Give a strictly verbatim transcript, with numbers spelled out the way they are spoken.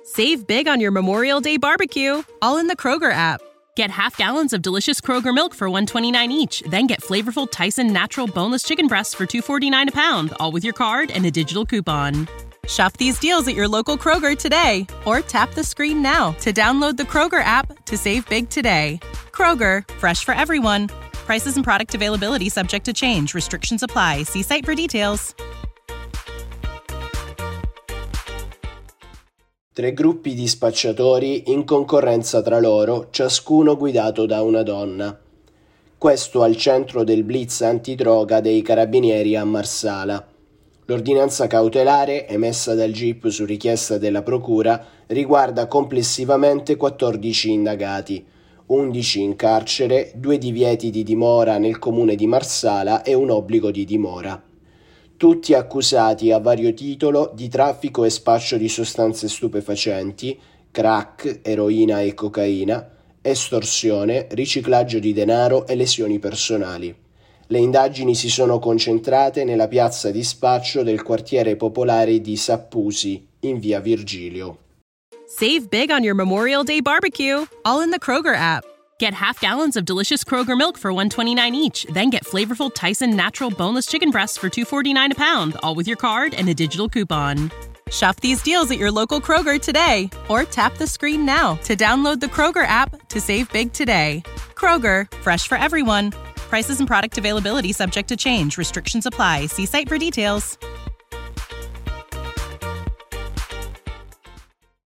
Save big on your Memorial Day barbecue, all in the Kroger app. Get half gallons of delicious Kroger milk for one dollar and twenty-nine cents each. Then get flavorful Tyson natural boneless chicken breasts for two dollars and forty-nine cents a pound, all with your card and a digital coupon. Shop these deals at your local Kroger today, or tap the screen now to download the Kroger app to save big today. Kroger, fresh for everyone. Prices and product availability subject to change. Restrictions apply. See site for details. Tre gruppi di spacciatori in concorrenza tra loro, ciascuno guidato da una donna. Questo al centro del blitz antidroga dei carabinieri a Marsala. L'ordinanza cautelare, emessa dal G I P su richiesta della Procura, riguarda complessivamente quattordici indagati, undici in carcere, due divieti di dimora nel comune di Marsala e un obbligo di dimora. Tutti accusati a vario titolo di traffico e spaccio di sostanze stupefacenti, crack, eroina e cocaina, estorsione, riciclaggio di denaro e lesioni personali. Le indagini si sono concentrate nella piazza di spaccio del quartiere popolare di Sappusi, in via Virgilio. Save big on your Memorial Day barbecue, all in the Kroger app. Get half gallons of delicious Kroger milk for one dollar and twenty-nine cents each. Then get flavorful Tyson natural boneless chicken breasts for two dollars and forty-nine cents a pound, all with your card and a digital coupon. Shop these deals at your local Kroger today, or tap the screen now to download the Kroger app to save big today. Kroger, fresh for everyone. Prices and product availability subject to change. Restrictions apply. See site for details.